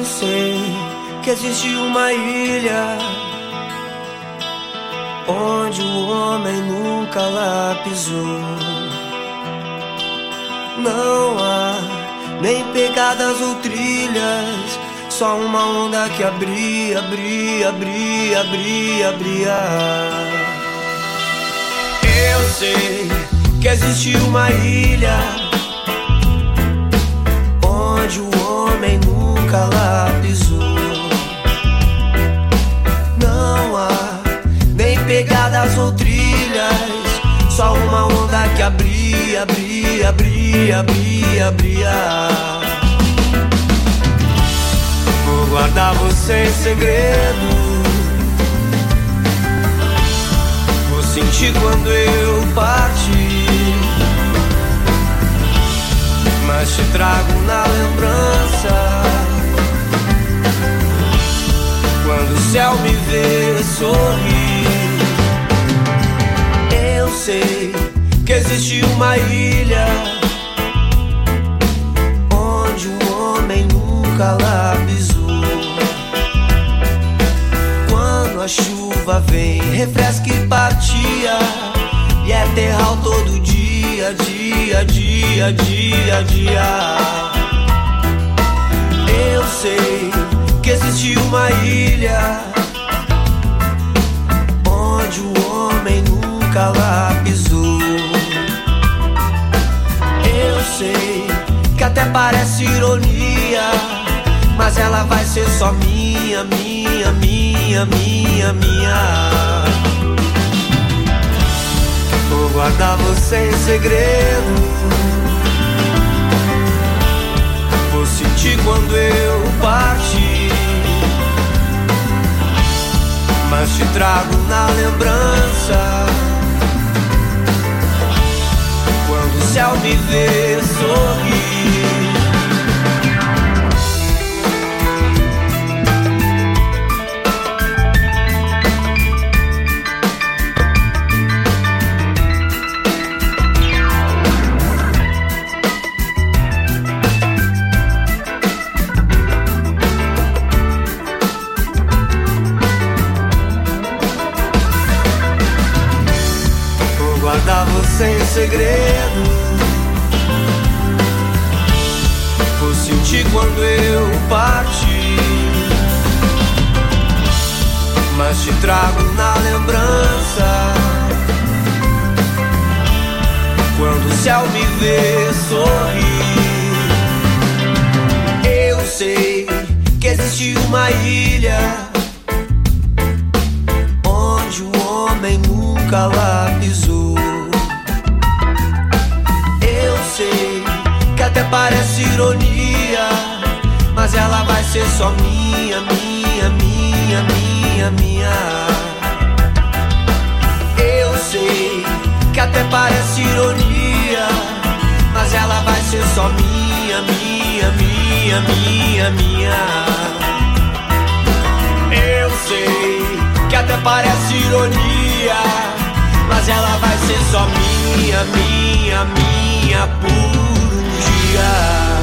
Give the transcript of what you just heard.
sei que existe uma ilha onde o homem nunca lá pisou. Não há nem pegadas ou trilhas, só uma onda que abria, abria, abria, abria, abria. Eu sei que existe uma ilha onde o homem nunca lá pisou. Não há nem pegadas ou trilhas, só uma onda que abria, abria, abria, abria, abria. Vou guardar você em segredo, vou sentir quando eu partir, mas te trago na lembrança quando o céu me vê sorrir. Eu sei que existe uma ilha onde o homem nunca lá pisou. Quando a chuva vem, refresca e partia, e é terral todo dia, dia, dia, dia, dia. Eu sei que existe uma ilha onde o homem nunca lá pisou. Eu sei que até parece ironia, mas ela vai ser só minha, minha, minha, minha, minha. Vou guardar você em segredo, vou sentir quando eu partir, mas te trago na lembrança quando o céu me vê sorrir. Guardar você em segredo, vou sentir quando eu partir, mas te trago na lembrança quando o céu me vê sorrir. Eu sei que existe uma ilha onde o homem nunca lá pisou. Eu sei que até parece ironia, mas ela vai ser só minha, minha, minha, minha, minha. Eu sei que até parece ironia, mas ela vai ser só minha, minha, minha, minha, minha. Eu sei que até parece ironia, mas ela vai ser só minha, minha, minha por um dia.